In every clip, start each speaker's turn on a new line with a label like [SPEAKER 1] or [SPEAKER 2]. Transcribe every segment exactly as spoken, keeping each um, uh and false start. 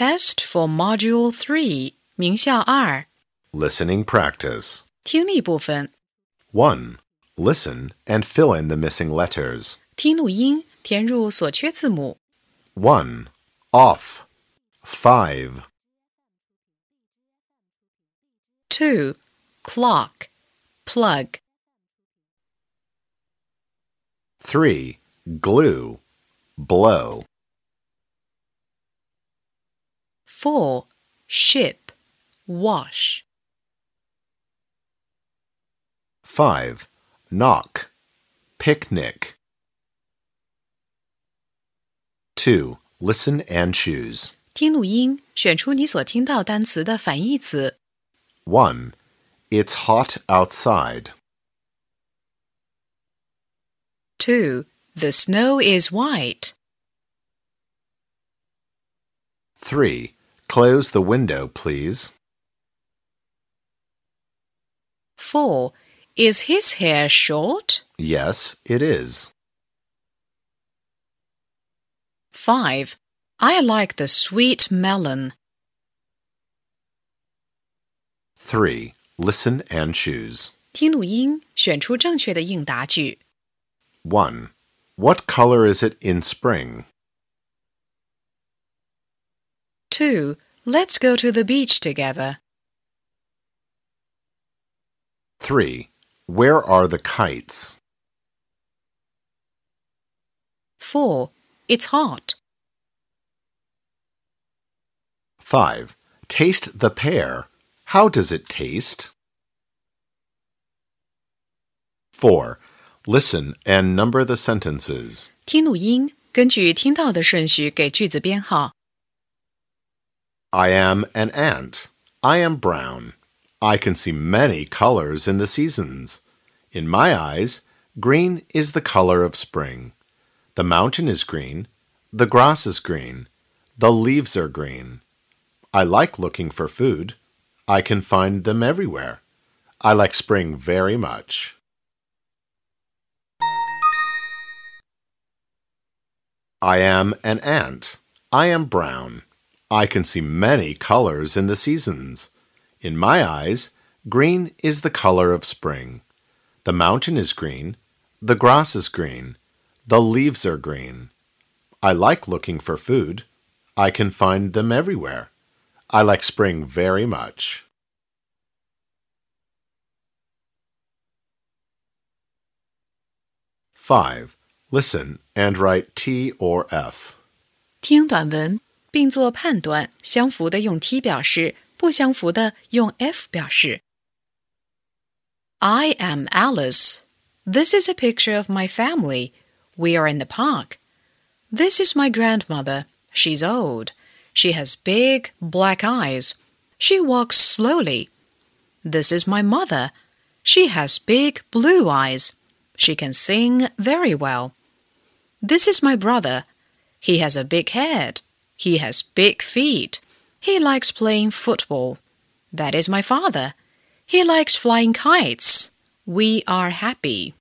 [SPEAKER 1] Test for Module three 名校二
[SPEAKER 2] Listening practice.
[SPEAKER 1] 听力部分
[SPEAKER 2] one. Listen and fill in the missing letters.
[SPEAKER 1] 听录音，填入所缺字母。
[SPEAKER 2] one. Off. five.
[SPEAKER 1] two. Clock. Plug.
[SPEAKER 2] three. Glue. Blow.
[SPEAKER 1] four. Ship. Wash.
[SPEAKER 2] five. Knock. Picnic. two. Listen and choose.
[SPEAKER 1] 听录音，选出你所听到单词的反义词。
[SPEAKER 2] one. It's hot outside.
[SPEAKER 1] two. The snow is white.
[SPEAKER 2] three. Close the window, please.
[SPEAKER 1] four. Is his hair short?
[SPEAKER 2] Yes, it is.
[SPEAKER 1] five. I like the sweet melon.
[SPEAKER 2] three. Listen and choose.
[SPEAKER 1] 听录音，选出正确的应答句。
[SPEAKER 2] one. What color is it in spring?
[SPEAKER 1] two. Let's go to the beach together.
[SPEAKER 2] three. Where are the kites?
[SPEAKER 1] four. It's hot.
[SPEAKER 2] five. Taste the pear. How does it taste? four. Listen and number the sentences.
[SPEAKER 1] 听录音，根据听到的顺序给句子编号。
[SPEAKER 2] I am an ant. I am brown. I can see many colors in the seasons. In my eyes, green is the color of spring. The mountain is green. The grass is green. The leaves are green. I like looking for food. I can find them everywhere. I like spring very much. I am an ant. I am brown. I can see many colors in the seasons. In my eyes, green is the color of spring. The mountain is green. The grass is green. The leaves are green. I like looking for food. I can find them everywhere. I like spring very much. five. Listen and write T or F.
[SPEAKER 1] 听短文，并做判断，相符的用 T 表示，不相符的用 F 表示。 I am Alice. This is a picture of my family. We are in the park. This is my grandmother. She's old. She has big black eyes. She walks slowly. This is my mother. She has big blue eyes. She can sing very well. This is my brother. He has a big head. He has big feet. He likes playing football. That is my father. He likes flying kites. We are happy.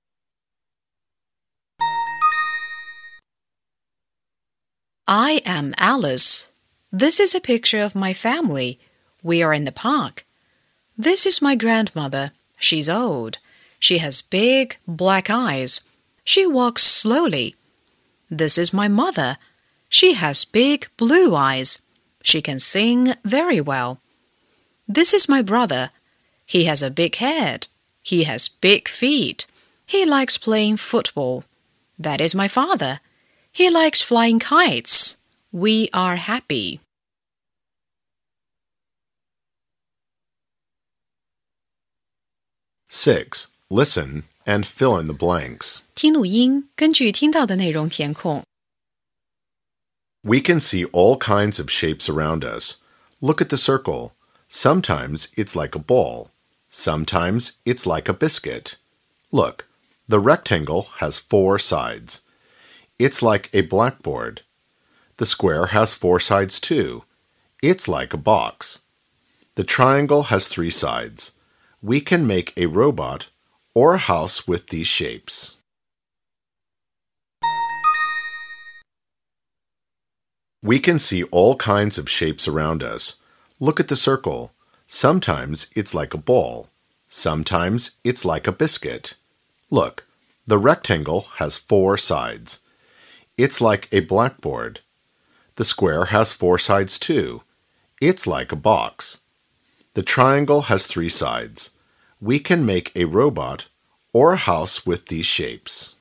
[SPEAKER 1] I am Alice. This is a picture of my family. We are in the park. This is my grandmother. She's old. She has big black eyes. She walks slowly. This is my mother. She has big blue eyes. She can sing very well. This is my brother. He has a big head. He has big feet. He likes playing football. That is my father. He likes flying kites. We are happy.
[SPEAKER 2] six. Listen and fill in the blanks.
[SPEAKER 1] 听录音，根据听到的内容填空。
[SPEAKER 2] We can see all kinds of shapes around us. Look at the circle. Sometimes it's like a ball. Sometimes it's like a biscuit. Look, the rectangle has four sides. It's like a blackboard. The square has four sides too. It's like a box. The triangle has three sides. We can make a robot or a house with these shapes. We can see all kinds of shapes around us. Look at the circle. Sometimes it's like a ball. Sometimes it's like a biscuit. Look, the rectangle has four sides. It's like a blackboard. The square has four sides too. It's like a box. The triangle has three sides. We can make a robot or a house with these shapes.